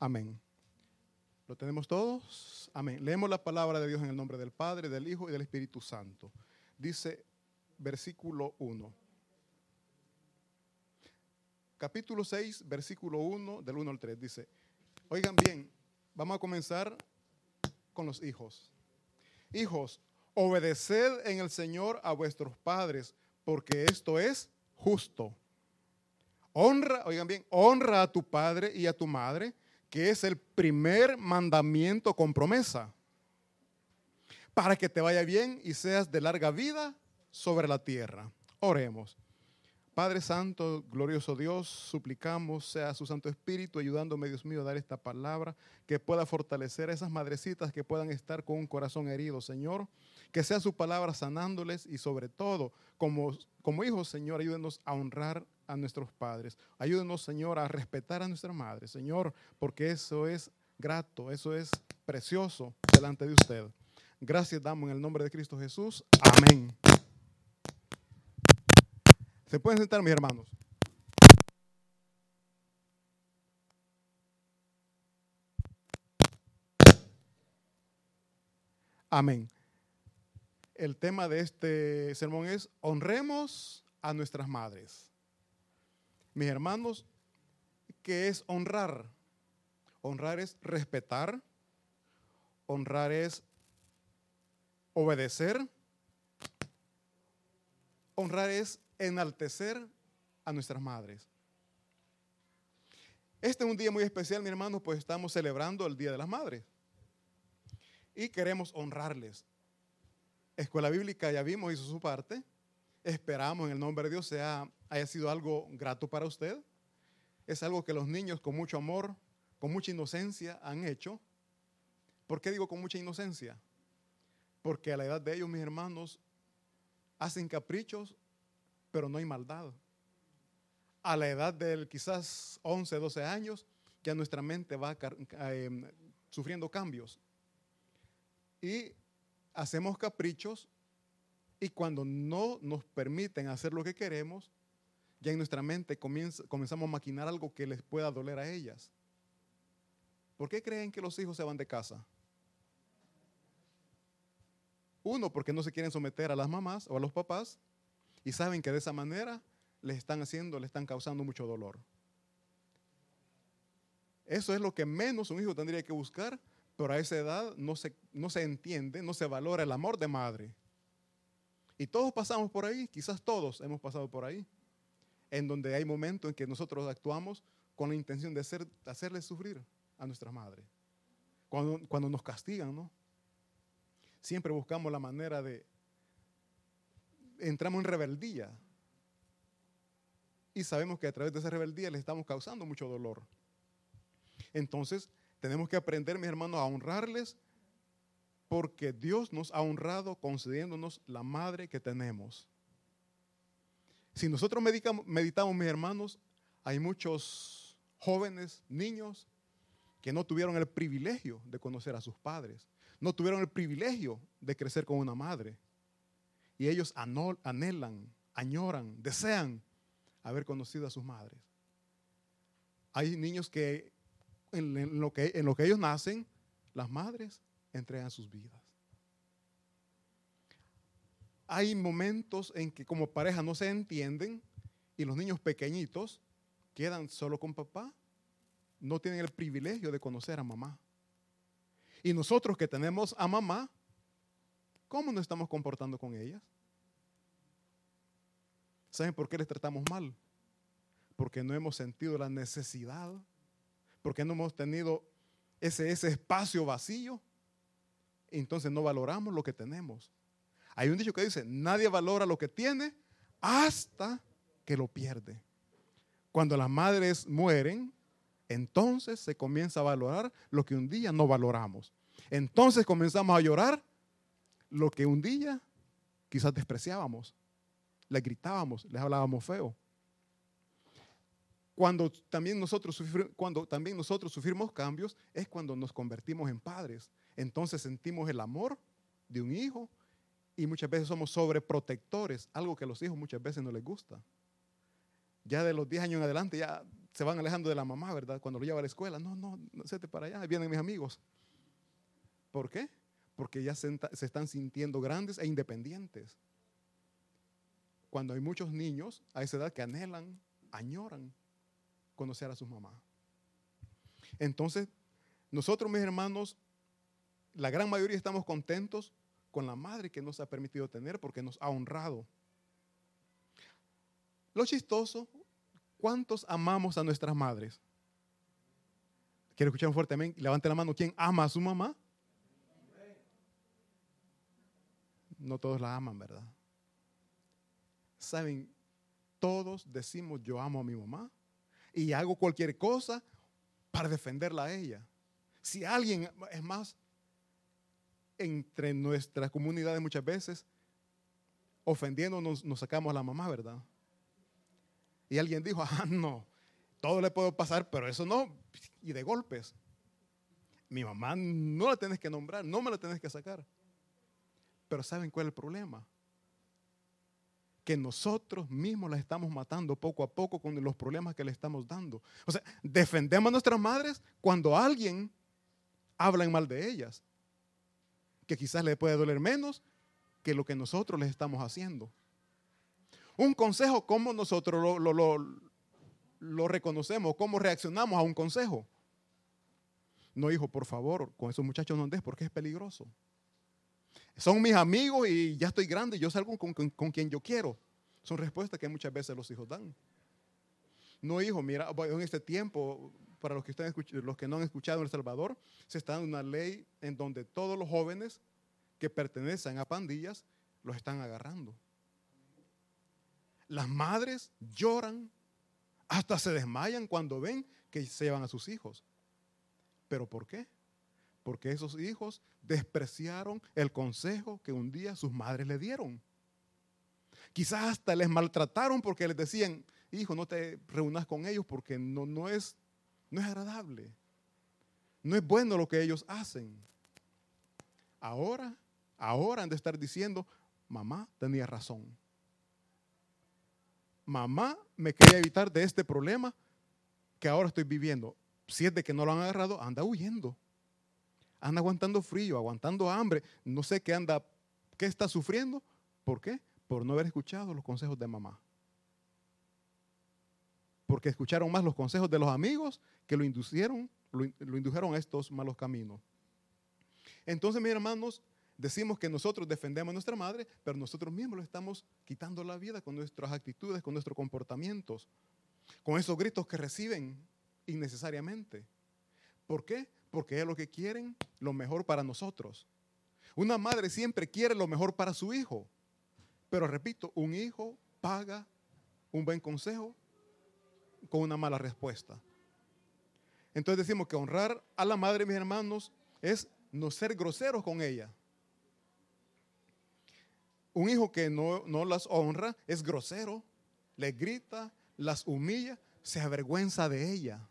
Amén. ¿Lo tenemos todos? Amén. Leemos la palabra de Dios en el nombre del Padre, del Hijo y del Espíritu Santo. Dice versículo 1. Capítulo 6, versículo 1, del 1 al 3. Dice, oigan bien, vamos a comenzar con los hijos. Hijos, obedeced en el Señor a vuestros padres, porque esto es justo. Honra, oigan bien, honra a tu padre y a tu madre, que es el primer mandamiento con promesa, para que te vaya bien y seas de larga vida sobre la tierra. Oremos. Padre Santo, glorioso Dios, suplicamos sea su Santo Espíritu ayudándome, Dios mío, a dar esta palabra que pueda fortalecer a esas madrecitas que puedan estar con un corazón herido, Señor. Que sea su palabra sanándoles y sobre todo, como hijos, Señor, ayúdenos a honrar a nuestros padres. Ayúdenos, Señor, a respetar a nuestra madre, Señor, porque eso es grato, eso es precioso delante de usted. Gracias damos en el nombre de Cristo Jesús. Amén. ¿Se pueden sentar, mis hermanos? Amén. El tema de este sermón es honremos a nuestras madres. Mis hermanos, ¿qué es honrar? Honrar es respetar, honrar es obedecer, honrar es enaltecer a nuestras madres. Este es un día muy especial, mi hermano, pues estamos celebrando el Día de las Madres y queremos honrarles. Escuela Bíblica, ya vimos, hizo su parte. Esperamos en el nombre de Dios haya sido algo grato para usted. Es algo que los niños con mucho amor, con mucha inocencia han hecho. ¿Por qué digo con mucha inocencia? Porque a la edad de ellos, mis hermanos, hacen caprichos, pero no hay maldad. A la edad de quizás 11, 12 años, ya nuestra mente va sufriendo cambios. Y hacemos caprichos y cuando no nos permiten hacer lo que queremos, ya en nuestra mente comenzamos a maquinar algo que les pueda doler a ellas. ¿Por qué creen que los hijos se van de casa? Uno, porque no se quieren someter a las mamás o a los papás y saben que de esa manera les están causando mucho dolor. Eso es lo que menos un hijo tendría que buscar, pero a esa edad no se entiende, no se valora el amor de madre. Y todos pasamos por ahí, quizás todos hemos pasado por ahí, en donde hay momentos en que nosotros actuamos con la intención de hacerles sufrir a nuestras madres. Cuando nos castigan, ¿no? Siempre buscamos la manera entramos en rebeldía. Y sabemos que a través de esa rebeldía les estamos causando mucho dolor. Entonces, tenemos que aprender, mis hermanos, a honrarles porque Dios nos ha honrado concediéndonos la madre que tenemos. Si nosotros meditamos, mis hermanos, hay muchos jóvenes, niños, que no tuvieron el privilegio de conocer a sus padres. No tuvieron el privilegio de crecer con una madre. Y ellos anhelan, añoran, desean haber conocido a sus madres. Hay niños que en lo que ellos nacen, las madres entregan sus vidas. Hay momentos en que como pareja no se entienden y los niños pequeñitos quedan solo con papá, no tienen el privilegio de conocer a mamá. Y nosotros que tenemos a mamá, ¿cómo nos estamos comportando con ellas? ¿Saben por qué les tratamos mal? Porque no hemos sentido la necesidad, porque no hemos tenido ese espacio vacío, entonces no valoramos lo que tenemos. Hay un dicho que dice, nadie valora lo que tiene hasta que lo pierde. Cuando las madres mueren, entonces se comienza a valorar lo que un día no valoramos. Entonces comenzamos a llorar lo que un día quizás despreciábamos. Les gritábamos, les hablábamos feo. Cuando también nosotros sufrimos cambios, es cuando nos convertimos en padres. Entonces sentimos el amor de un hijo y muchas veces somos sobreprotectores, algo que a los hijos muchas veces no les gusta. Ya de los 10 años en adelante ya se van alejando de la mamá, ¿verdad? Cuando lo lleva a la escuela, no, séte para allá, vienen mis amigos. ¿Por qué? Porque ya se están sintiendo grandes e independientes. Cuando hay muchos niños a esa edad que anhelan, añoran conocer a sus mamás. Entonces, nosotros, mis hermanos, la gran mayoría estamos contentos con la madre que nos ha permitido tener porque nos ha honrado. Lo chistoso, ¿cuántos amamos a nuestras madres? Quiero escuchar un fuerte amén. Levante la mano. ¿Quién ama a su mamá? No todos la aman, ¿verdad? Saben, todos decimos yo amo a mi mamá y hago cualquier cosa para defenderla a ella. Si alguien, es más, entre nuestras comunidades muchas veces, ofendiéndonos, nos sacamos a la mamá, ¿verdad? Y alguien dijo, no, todo le puedo pasar, pero eso no, y de golpes. Mi mamá no la tienes que nombrar, no me la tienes que sacar. Pero ¿saben cuál es el problema? Que nosotros mismos la estamos matando poco a poco con los problemas que le estamos dando. O sea, defendemos a nuestras madres cuando alguien habla en mal de ellas, que quizás le puede doler menos que lo que nosotros les estamos haciendo. Un consejo, ¿cómo nosotros lo reconocemos? ¿Cómo reaccionamos a un consejo? No, hijo, por favor, con esos muchachos no andes porque es peligroso. Son mis amigos y ya estoy grande, yo salgo con quien yo quiero. Son respuestas que muchas veces los hijos dan. No, hijo, mira, en este tiempo, para los que no han escuchado en El Salvador, se está dando una ley en donde todos los jóvenes que pertenecen a pandillas los están agarrando. Las madres lloran, hasta se desmayan cuando ven que se llevan a sus hijos. ¿Pero por qué? Porque esos hijos despreciaron el consejo que un día sus madres le dieron. Quizás hasta les maltrataron porque les decían, hijo, no te reúnas con ellos porque no es agradable. No es bueno lo que ellos hacen. Ahora han de estar diciendo, mamá tenía razón. Mamá me quería evitar de este problema que ahora estoy viviendo. Si es de que no lo han agarrado, anda huyendo. Anda aguantando frío, aguantando hambre. No sé qué está sufriendo. ¿Por qué? Por no haber escuchado los consejos de mamá. Porque escucharon más los consejos de los amigos que lo indujeron a estos malos caminos. Entonces, mis hermanos, decimos que nosotros defendemos a nuestra madre, pero nosotros mismos le estamos quitando la vida con nuestras actitudes, con nuestros comportamientos, con esos gritos que reciben innecesariamente. ¿Por qué? Porque es lo que quieren, lo mejor para nosotros. Una madre siempre quiere lo mejor para su hijo. Pero repito, un hijo paga un buen consejo con una mala respuesta. Entonces decimos que honrar a la madre, mis hermanos, es no ser groseros con ella. Un hijo que no las honra es grosero, les grita, las humilla, se avergüenza de ella.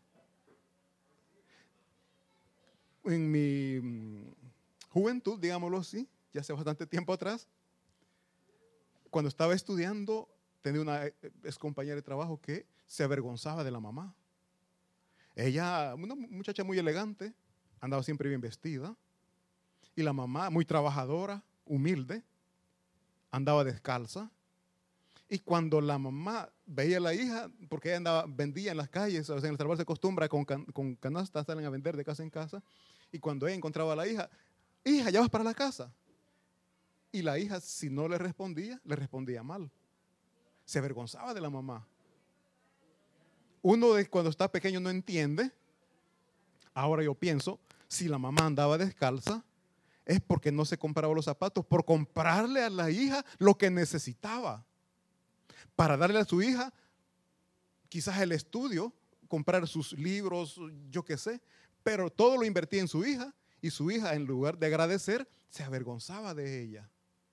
En mi juventud, digámoslo así, ya hace bastante tiempo atrás, cuando estaba estudiando, tenía una ex compañera de trabajo que se avergonzaba de la mamá. Ella, una muchacha muy elegante, andaba siempre bien vestida, y la mamá, muy trabajadora, humilde, andaba descalza. Y cuando la mamá veía a la hija, porque ella vendía en las calles, o sea, en El Salvador se acostumbra con canastas, salen a vender de casa en casa, y cuando ella encontraba a la hija, ya vas para la casa. Y la hija, si no le respondía mal. Se avergonzaba de la mamá. Uno cuando está pequeño no entiende. Ahora yo pienso, si la mamá andaba descalza, es porque no se compraba los zapatos, por comprarle a la hija lo que necesitaba. Para darle a su hija quizás el estudio, comprar sus libros, yo qué sé, pero todo lo invertía en su hija y su hija, en lugar de agradecer, se avergonzaba de ella.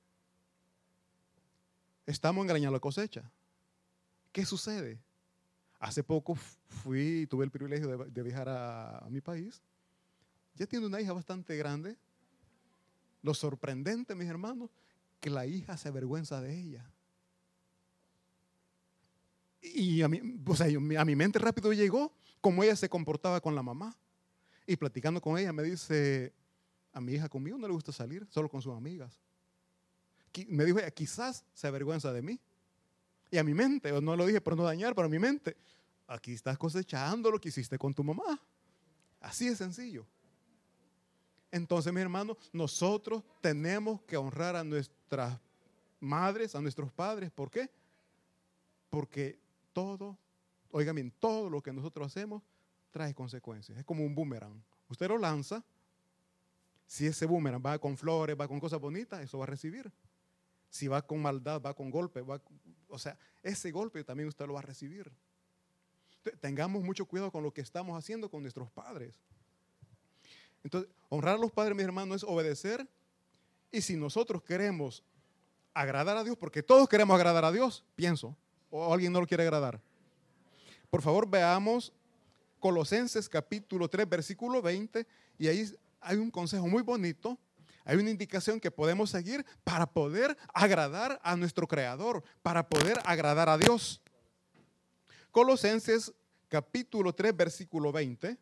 Estamos engañando la cosecha. ¿Qué sucede? Hace poco tuve el privilegio de viajar a mi país. Ya tiene una hija bastante grande. Lo sorprendente, mis hermanos, que la hija se avergüenza de ella. Y a mi mente rápido llegó cómo ella se comportaba con la mamá. Y platicando con ella me dice, a mi hija conmigo no le gusta salir, solo con sus amigas. Me dijo ella, quizás se avergüenza de mí. Y a mi mente, no lo dije por no dañar, pero a mi mente, aquí estás cosechando lo que hiciste con tu mamá. Así de sencillo. Entonces, mis hermanos, nosotros tenemos que honrar a nuestras madres, a nuestros padres. ¿Por qué? Porque todo, oigan bien, todo lo que nosotros hacemos trae consecuencias. Es como un boomerang. Usted lo lanza, si ese boomerang va con flores, va con cosas bonitas, eso va a recibir. Si va con maldad, va con golpe, ese golpe también usted lo va a recibir. Tengamos mucho cuidado con lo que estamos haciendo con nuestros padres. Entonces, honrar a los padres, mis hermanos, es obedecer. Y si nosotros queremos agradar a Dios, porque todos queremos agradar a Dios, pienso, o alguien no lo quiere agradar. Por favor, veamos Colosenses capítulo 3, versículo 20, y ahí hay un consejo muy bonito, hay una indicación que podemos seguir para poder agradar a nuestro Creador, para poder agradar a Dios. Colosenses capítulo 3, versículo 20.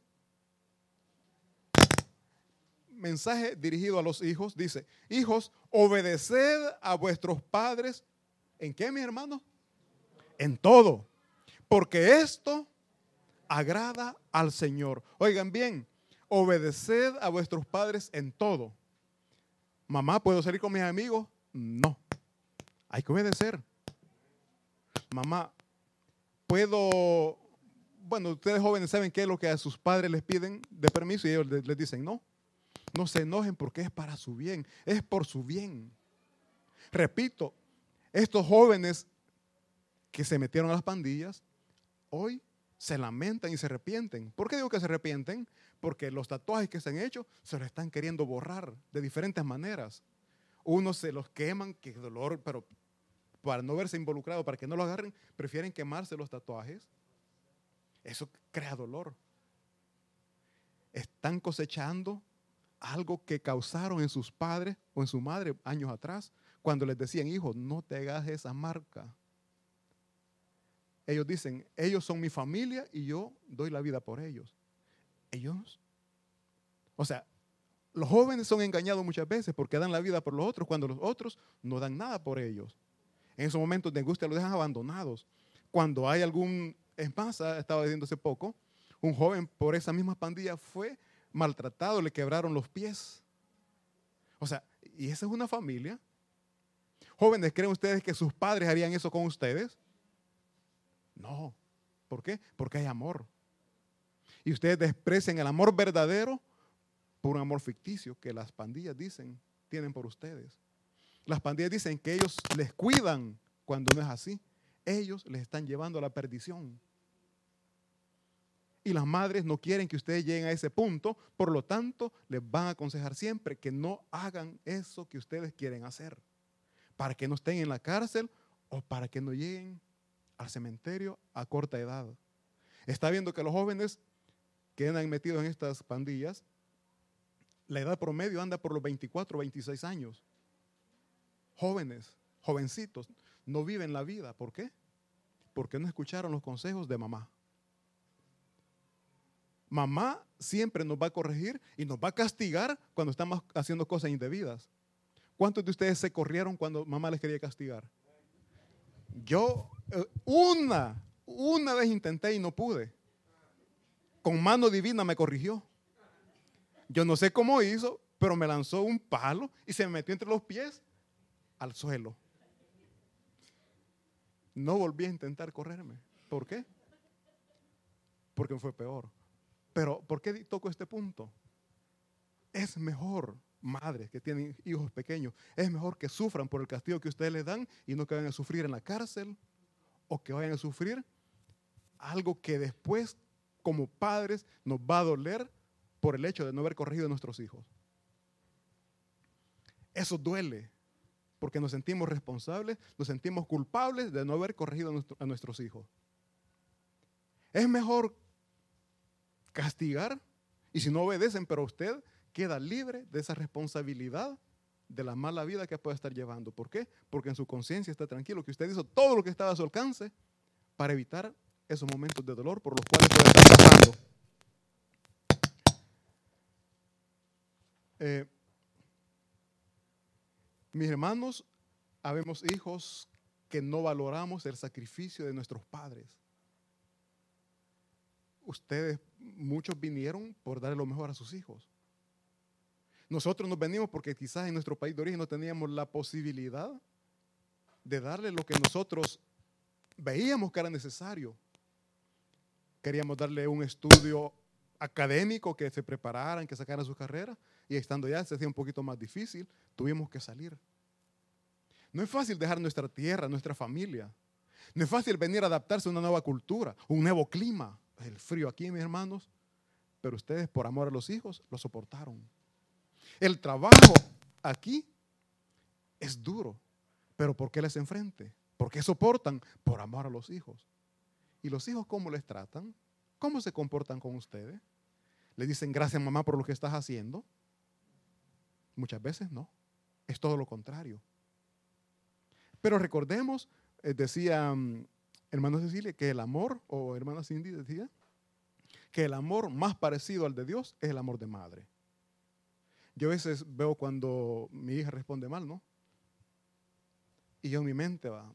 Mensaje dirigido a los hijos, dice, hijos, obedeced a vuestros padres. ¿En qué, mis hermanos? En todo, porque esto agrada al Señor. Oigan bien, obedeced a vuestros padres en todo. Mamá, ¿puedo salir con mis amigos? No, hay que obedecer. Mamá, ustedes jóvenes saben qué es lo que a sus padres les piden de permiso y ellos les dicen no. No se enojen porque es para su bien, es por su bien. Repito, estos jóvenes que se metieron a las pandillas, hoy se lamentan y se arrepienten. ¿Por qué digo que se arrepienten? Porque los tatuajes que se han hecho se los están queriendo borrar de diferentes maneras. Unos se los queman, qué dolor, pero para no verse involucrado, para que no lo agarren, prefieren quemarse los tatuajes. Eso crea dolor. Están cosechando algo que causaron en sus padres o en su madre años atrás, cuando les decían, hijo, no te hagas esa marca. Ellos dicen, ellos son mi familia y yo doy la vida por ellos. Los jóvenes son engañados muchas veces porque dan la vida por los otros cuando los otros no dan nada por ellos. En esos momentos de angustia los dejan abandonados. Cuando hay es más, estaba diciendo hace poco, un joven por esa misma pandilla fue maltratado, le quebraron los pies. Y esa es una familia. Jóvenes, ¿creen ustedes que sus padres harían eso con ustedes? No. ¿Por qué? Porque hay amor. Y ustedes desprecian el amor verdadero por un amor ficticio que las pandillas dicen tienen por ustedes. Las pandillas dicen que ellos les cuidan cuando no es así. Ellos les están llevando a la perdición. Y las madres no quieren que ustedes lleguen a ese punto, por lo tanto, les van a aconsejar siempre que no hagan eso que ustedes quieren hacer, para que no estén en la cárcel o para que no lleguen al cementerio a corta edad. Está viendo que los jóvenes que andan metidos en estas pandillas, la edad promedio anda por los 24, 26 años. Jóvenes, jovencitos, no viven la vida. ¿Por qué? Porque no escucharon los consejos de mamá. Mamá siempre nos va a corregir y nos va a castigar cuando estamos haciendo cosas indebidas. ¿Cuántos de ustedes se corrieron cuando mamá les quería castigar? Yo una vez intenté y no pude. Con mano divina me corrigió. Yo no sé cómo hizo, pero me lanzó un palo y se me metió entre los pies al suelo. No volví a intentar correrme. ¿Por qué? Porque me fue peor. Pero, ¿por qué toco este punto? Es mejor, madres que tienen hijos pequeños, es mejor que sufran por el castigo que ustedes les dan y no que vayan a sufrir en la cárcel o que vayan a sufrir algo que después, como padres, nos va a doler por el hecho de no haber corregido a nuestros hijos. Eso duele, porque nos sentimos responsables, nos sentimos culpables de no haber corregido a nuestros hijos. Es mejor castigar, y si no obedecen, pero usted queda libre de esa responsabilidad de la mala vida que puede estar llevando. ¿Por qué? Porque en su conciencia está tranquilo, que usted hizo todo lo que estaba a su alcance para evitar esos momentos de dolor por los cuales puede estar pasando. Mis hermanos, habemos hijos que no valoramos el sacrificio de nuestros padres. Ustedes, muchos vinieron por darle lo mejor a sus hijos. Nosotros nos venimos porque quizás en nuestro país de origen no teníamos la posibilidad de darle lo que nosotros veíamos que era necesario. Queríamos darle un estudio académico, que se prepararan, que sacaran sus carreras, y estando ya se hacía un poquito más difícil, tuvimos que salir. No es fácil dejar nuestra tierra, nuestra familia. No es fácil venir a adaptarse a una nueva cultura, un nuevo clima. El frío aquí, mis hermanos, pero ustedes por amor a los hijos lo soportaron. El trabajo aquí es duro, pero ¿por qué les enfrente? ¿Por qué soportan? Por amor a los hijos. ¿Y los hijos cómo les tratan? ¿Cómo se comportan con ustedes? ¿Le dicen gracias mamá por lo que estás haciendo? Muchas veces no, es todo lo contrario. Pero recordemos, decía hermana Cecilia, que el amor, o hermana Cindy decía, que el amor más parecido al de Dios es el amor de madre. Yo a veces veo cuando mi hija responde mal, ¿no? Y yo en mi mente va,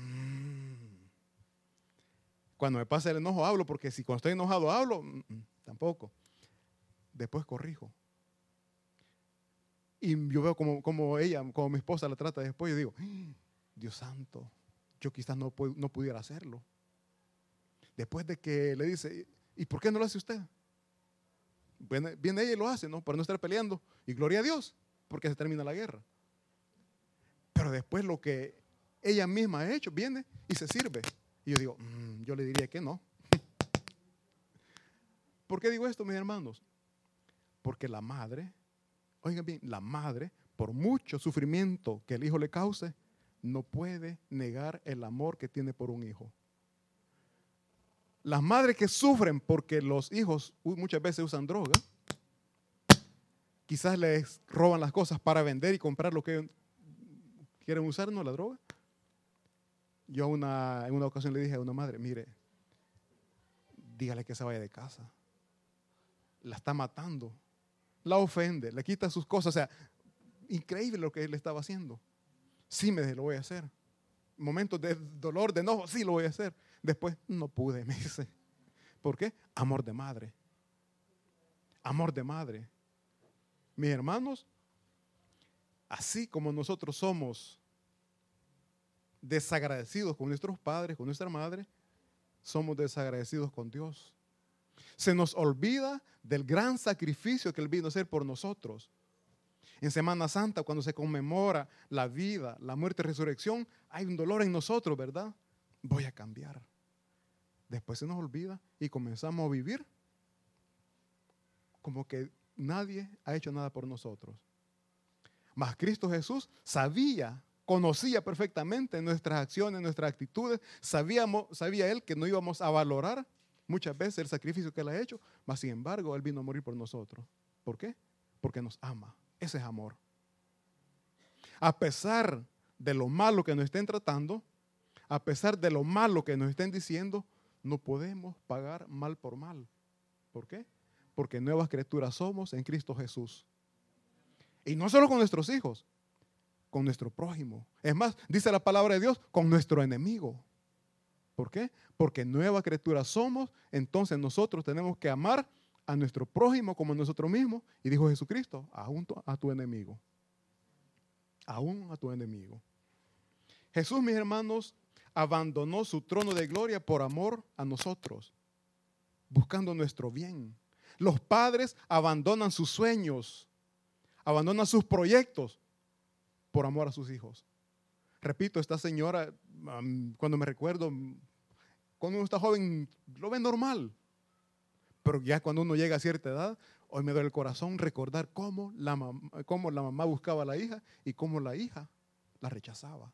cuando me pasa el enojo hablo, porque si cuando estoy enojado hablo, tampoco. Después corrijo. Y yo veo como ella, como mi esposa la trata después, yo digo, Dios santo, yo quizás no pudiera hacerlo. Después de que le dice, ¿y por qué no lo hace usted? Viene ella y lo hace, ¿no? Para no estar peleando. Y gloria a Dios, porque se termina la guerra. Pero después lo que ella misma ha hecho, viene y se sirve. Y yo digo, yo le diría que no. ¿Por qué digo esto, mis hermanos? Porque la madre, oigan bien, la madre, por mucho sufrimiento que el hijo le cause, no puede negar el amor que tiene por un hijo. Las madres que sufren porque los hijos muchas veces usan droga, quizás les roban las cosas para vender y comprar lo que quieren usar, ¿no? La droga. Yo en una ocasión le dije a una madre, mire, dígale que se vaya de casa. La está matando, la ofende, le quita sus cosas. O sea, increíble lo que él estaba haciendo. Sí, lo voy a hacer. Momentos de dolor, de enojo, sí lo voy a hacer. Después, no pude, me dice. ¿Por qué? Amor de madre. Amor de madre. Mis hermanos, así como nosotros somos desagradecidos con nuestros padres, con nuestra madre, somos desagradecidos con Dios. Se nos olvida del gran sacrificio que Él vino a hacer por nosotros. En Semana Santa, cuando se conmemora la vida, la muerte y resurrección, hay un dolor en nosotros, ¿verdad? Voy a cambiar. Después se nos olvida y comenzamos a vivir como que nadie ha hecho nada por nosotros. Mas Cristo Jesús conocía perfectamente nuestras acciones, nuestras actitudes. Sabía Él que no íbamos a valorar muchas veces el sacrificio que Él ha hecho, mas sin embargo Él vino a morir por nosotros. ¿Por qué? Porque nos ama. Ese es amor. A pesar de lo malo que nos estén tratando, a pesar de lo malo que nos estén diciendo, no podemos pagar mal por mal. ¿Por qué? Porque nuevas criaturas somos en Cristo Jesús. Y no solo con nuestros hijos, con nuestro prójimo. Es más, dice la palabra de Dios, con nuestro enemigo. ¿Por qué? Porque nueva criatura somos, entonces nosotros tenemos que amar a nuestro prójimo como a nosotros mismos. Y dijo Jesucristo, aún a tu enemigo. Aún a tu enemigo. Jesús, mis hermanos, abandonó su trono de gloria por amor a nosotros, buscando nuestro bien. Los padres abandonan sus sueños, abandonan sus proyectos por amor a sus hijos. Repito, esta señora, cuando me recuerdo, cuando uno está joven, lo ve normal. Pero ya cuando uno llega a cierta edad, hoy me duele el corazón recordar cómo la mamá buscaba a la hija y cómo la hija la rechazaba.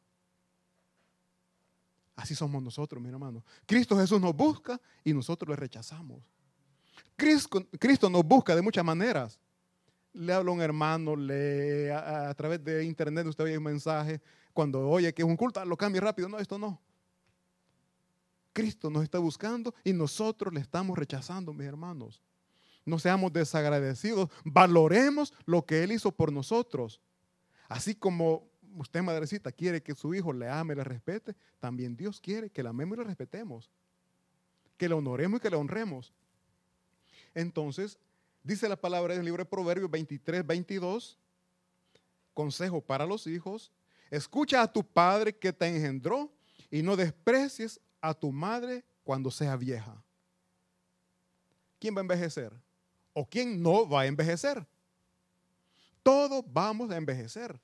Así somos nosotros, mi hermano. Cristo Jesús nos busca y nosotros le rechazamos. Cristo nos busca de muchas maneras. Le habla a un hermano, a través de internet usted oye un mensaje, cuando oye que es un culto, lo cambia rápido. No, esto no. Cristo nos está buscando y nosotros le estamos rechazando, mis hermanos. No seamos desagradecidos, valoremos lo que Él hizo por nosotros. Así como usted, madrecita, quiere que su hijo le ame y le respete, también Dios quiere que le amemos y le respetemos, que le honoremos y que le honremos. Entonces, dice la palabra en el libro de Proverbios 23, 22, consejo para los hijos: escucha a tu padre que te engendró y no desprecies a tu madre cuando sea vieja. ¿Quién va a envejecer? ¿O quién no va a envejecer? Todos vamos a envejecer.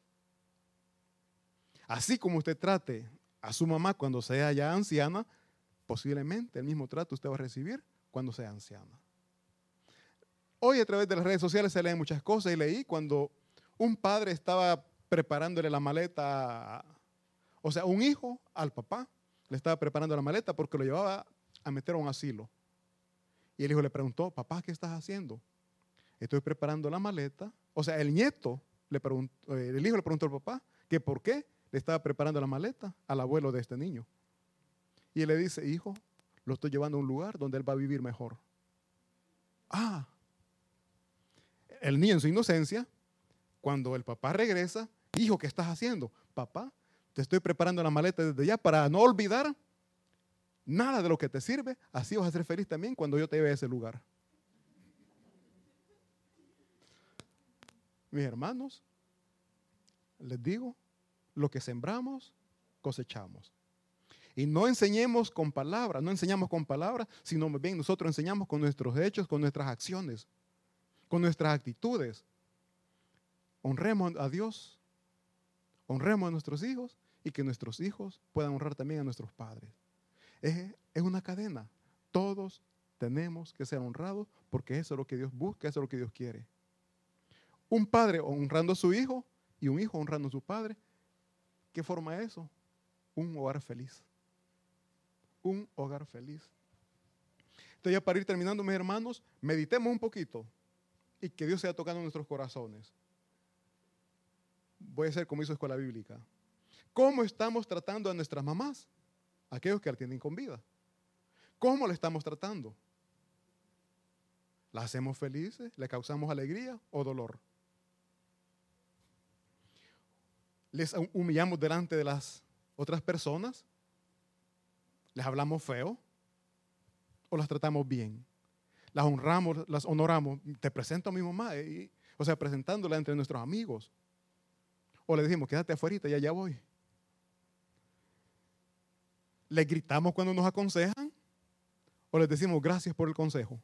Así como usted trate a su mamá cuando sea ya anciana, posiblemente el mismo trato usted va a recibir cuando sea anciana. Hoy a través de las redes sociales se leen muchas cosas y leí cuando un padre estaba preparándole la maleta, o sea, un hijo al papá le estaba preparando la maleta porque lo llevaba a meter a un asilo. Y el hijo le preguntó: papá, ¿qué estás haciendo? Estoy preparando la maleta. O sea, el nieto le preguntó, el hijo le preguntó al papá que por qué le estaba preparando la maleta al abuelo de este niño. Y él le dice: hijo, lo estoy llevando a un lugar donde él va a vivir mejor. Ah, el niño en su inocencia, cuando el papá regresa: hijo, ¿qué estás haciendo? Papá, te estoy preparando la maleta desde ya para no olvidar nada de lo que te sirve, así vas a ser feliz también cuando yo te lleve a ese lugar. Mis hermanos, les digo, lo que sembramos, cosechamos. Y no enseñemos con palabras, no enseñamos con palabras, sino más bien nosotros enseñamos con nuestros hechos, con nuestras acciones, con nuestras actitudes. Honremos a Dios, honremos a nuestros hijos y que nuestros hijos puedan honrar también a nuestros padres. Es una cadena. Todos tenemos que ser honrados porque eso es lo que Dios busca, eso es lo que Dios quiere. Un padre honrando a su hijo y un hijo honrando a su padre. ¿Qué forma es eso? Un hogar feliz. Un hogar feliz. Entonces, ya para ir terminando, mis hermanos, meditemos un poquito y que Dios sea tocando nuestros corazones. Voy a hacer como hizo Escuela Bíblica. ¿Cómo estamos tratando a nuestras mamás? Aquellos que la tienen con vida. ¿Cómo le estamos tratando? ¿La hacemos felices? ¿Le causamos alegría o dolor? ¿Les humillamos delante de las otras personas? ¿Les hablamos feo? ¿O las tratamos bien? ¿Las honramos, las honoramos? Te presento a mi mamá, o sea, presentándola entre nuestros amigos. ¿O le decimos: quédate afuera, ya voy? ¿Les gritamos cuando nos aconsejan? ¿O les decimos gracias por el consejo?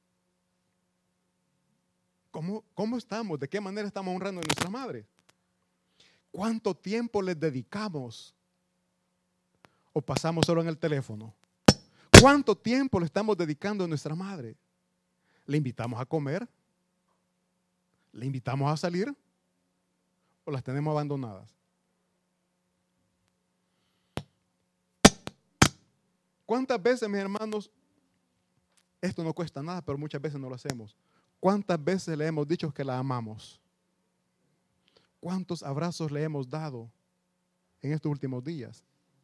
¿Cómo estamos? ¿De qué manera estamos honrando a nuestra madre? ¿Cuánto tiempo les dedicamos? ¿O pasamos solo en el teléfono? ¿Cuánto tiempo le estamos dedicando a nuestra madre? ¿Le invitamos a comer? ¿Le invitamos a salir? ¿O las tenemos abandonadas? ¿Cuántas veces, mis hermanos, esto no cuesta nada, pero muchas veces no lo hacemos? ¿Cuántas veces le hemos dicho que la amamos? ¿Cuántos abrazos le hemos dado en estos últimos días?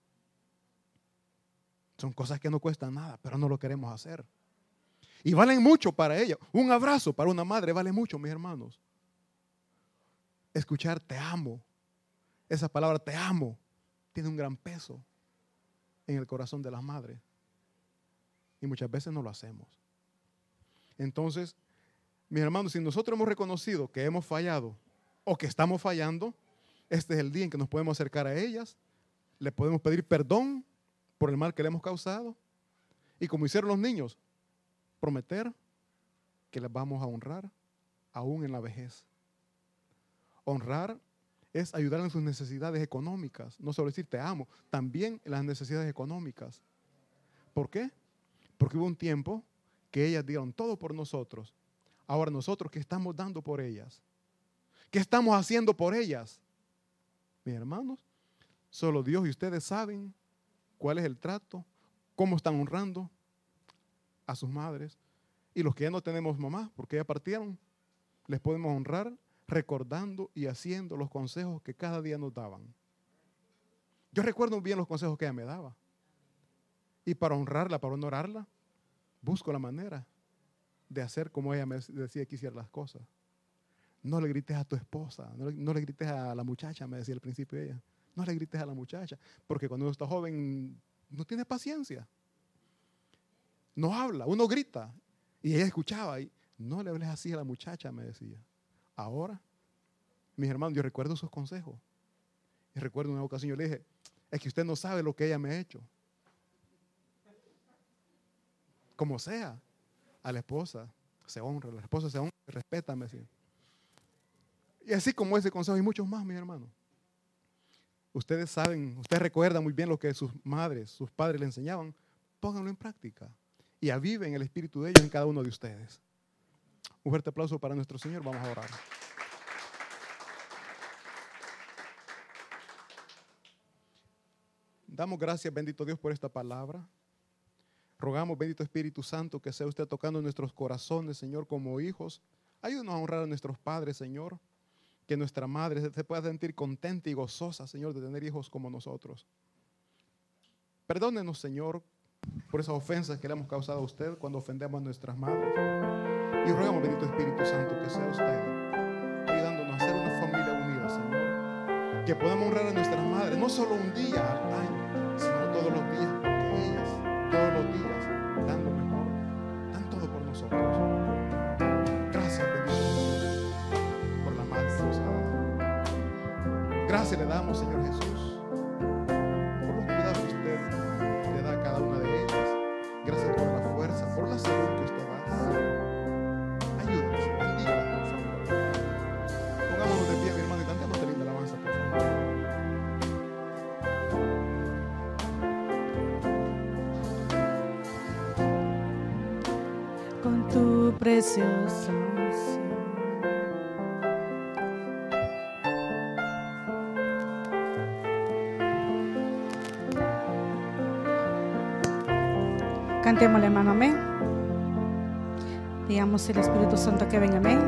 Son cosas que no cuestan nada, pero no lo queremos hacer. Y valen mucho para ella. Un abrazo para una madre vale mucho, mis hermanos. Escuchar te amo, esa palabra te amo, tiene un gran peso en el corazón de las madres. Y muchas veces no lo hacemos. Entonces, mis hermanos, si nosotros hemos reconocido que hemos fallado o que estamos fallando, este es el día en que nos podemos acercar a ellas, le podemos pedir perdón por el mal que le hemos causado y, como hicieron los niños, prometer que les vamos a honrar aún en la vejez. Honrar es ayudar en sus necesidades económicas, no solo decir te amo, también en las necesidades económicas. ¿Por qué? Porque hubo un tiempo que ellas dieron todo por nosotros. Ahora nosotros, ¿qué estamos dando por ellas? ¿Qué estamos haciendo por ellas? Mis hermanos, solo Dios y ustedes saben cuál es el trato, cómo están honrando a sus madres. Y los que ya no tenemos mamá, porque ya partieron, les podemos honrar recordando y haciendo los consejos que cada día nos daban. Yo recuerdo bien los consejos que ella me daba. Y para honrarla, para honorarla, busco la manera de hacer como ella me decía que hiciera las cosas. No le grites a tu esposa, no le grites a la muchacha, me decía al principio ella. No le grites a la muchacha, porque cuando uno está joven no tiene paciencia. No habla, uno grita. Y ella escuchaba y no le hables así a la muchacha, me decía. Ahora, mis hermanos, yo recuerdo sus consejos. Y recuerdo una ocasión, yo le dije, es que usted no sabe lo que ella me ha hecho. Como sea, a la esposa se honra, la esposa se honra, se respeta, me decía. Y así como ese consejo y muchos más, mis hermanos. Ustedes saben, ustedes recuerdan muy bien lo que sus madres, sus padres le enseñaban. Pónganlo en práctica y aviven el espíritu de ellos en cada uno de ustedes. Un fuerte aplauso para nuestro Señor. Vamos a orar. Damos gracias, bendito Dios, por esta palabra. Rogamos, bendito Espíritu Santo, que sea usted tocando nuestros corazones, Señor, como hijos. Ayúdanos a honrar a nuestros padres, Señor. Que nuestra madre se pueda sentir contenta y gozosa, Señor, de tener hijos como nosotros. Perdónenos, Señor, por esas ofensas que le hemos causado a usted cuando ofendemos a nuestras madres. Y rogamos, bendito Espíritu Santo, que sea usted ayudándonos a ser una familia unida, Señor. Que podamos honrar a nuestras madres, no solo un día al año, sino todos los días, porque ellas, todos los días, dan lo mejor, dan todo por nosotros. Gracias, bendito Jesús, por la madre que nos ha dado. Gracias le damos, Señor Jesús, por los cuidados que usted le da a cada una de ellas. Gracias por la fuerza, por la salud que usted da. Ayúdenos, bendígalas, por favor. Pongámonos de pie, mi hermano, y cantemos esta linda alabanza, por favor. Con tu preciosa unción. Cantémosle, hermano, amén. Digamos el Espíritu Santo que venga, amén.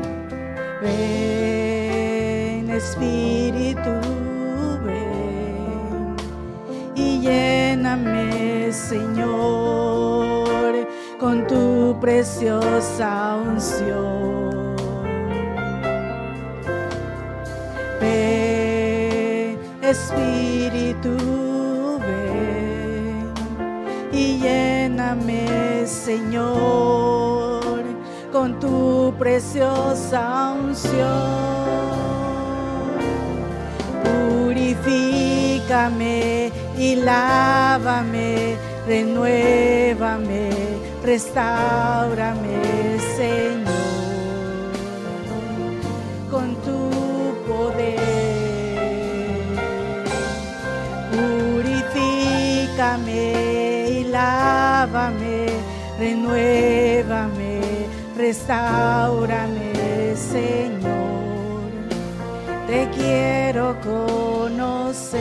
Ven, Espíritu, ven y lléname, Señor, con tu preciosa unción. Ven, Espíritu, ven y lléname, Señor, con tu preciosa unción. Purifícame y lávame, renuévame, restáurame, Señor, con tu poder. Purifícame y lávame, renuévame, restáurame, Señor. Te quiero conocer,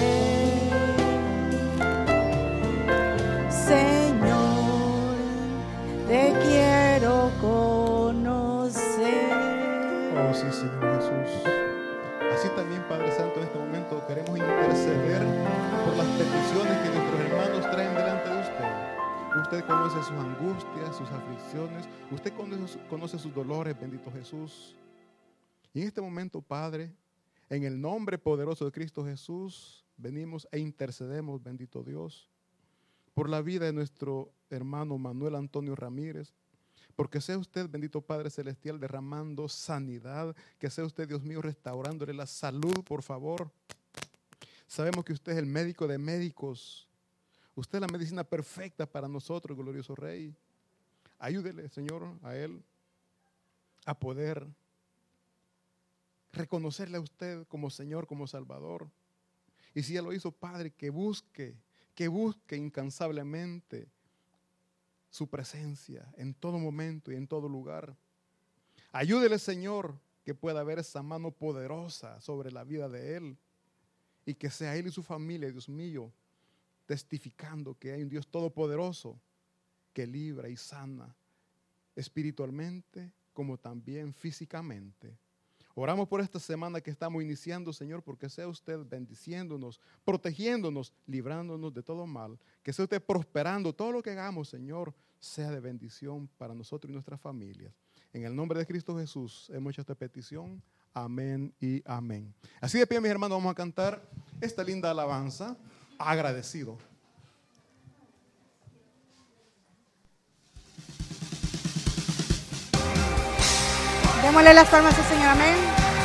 Señor, te quiero conocer. Oh, sí, Señor Jesús. Así también, Padre Santo, en este momento queremos interceder por las peticiones que nuestros hermanos traen delante de usted. Usted conoce sus angustias, sus aflicciones. Usted conoce sus dolores, bendito Jesús. Y en este momento, Padre, en el nombre poderoso de Cristo Jesús, venimos e intercedemos, bendito Dios, por la vida de nuestro hermano Manuel Antonio Ramírez. Porque sea usted, bendito Padre Celestial, derramando sanidad. Que sea usted, Dios mío, restaurándole la salud, por favor. Sabemos que usted es el médico de médicos. Usted es la medicina perfecta para nosotros, glorioso Rey. Ayúdele, Señor, a él a poder reconocerle a usted como Señor, como Salvador. Y si ya lo hizo, Padre, que busque incansablemente su presencia en todo momento y en todo lugar. Ayúdele, Señor, que pueda haber esa mano poderosa sobre la vida de él y que sea él y su familia, Dios mío, testificando que hay un Dios todopoderoso que libra y sana espiritualmente como también físicamente. Oramos por esta semana que estamos iniciando, Señor, porque sea usted bendiciéndonos, protegiéndonos, librándonos de todo mal. Que sea usted prosperando. Todo lo que hagamos, Señor, sea de bendición para nosotros y nuestras familias. En el nombre de Cristo Jesús hemos hecho esta petición. Amén y amén. Así de pie, mis hermanos, vamos a cantar esta linda alabanza, Agradecido. Démosle las palmas al Señor, amén.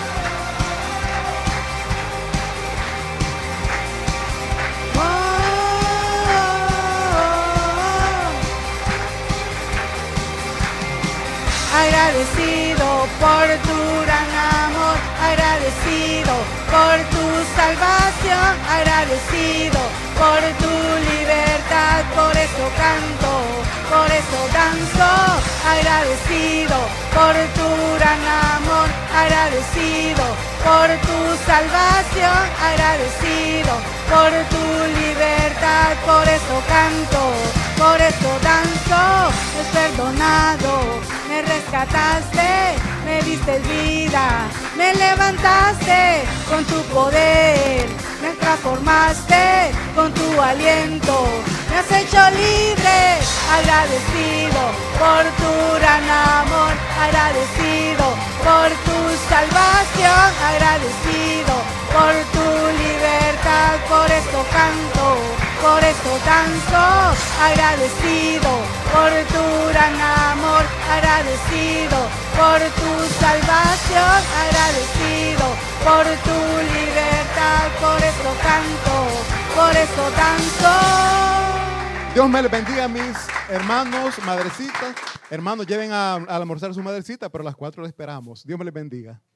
Agradecido por tu gran amor, agradecido por tu salvación, agradecido por tu libertad, por eso canto, por eso danzo, agradecido por tu gran amor, agradecido por tu salvación, agradecido por tu libertad, por eso canto, por eso danzo, es perdonado, me rescataste, me diste vida, me levantaste con tu poder, me transformaste con tu aliento, me has hecho libre, agradecido por tu gran amor, agradecido por tu salvación, agradecido por tu libertad, por esto canto, por esto danzo, agradecido por tu gran amor, agradecido por tu salvación, agradecido por tu libertad, por esto canto, por esto danzo. Dios me les bendiga, mis hermanos, madrecitas. Hermanos, lleven a almorzar a su madrecita, pero a las 4 le esperamos. Dios me les bendiga.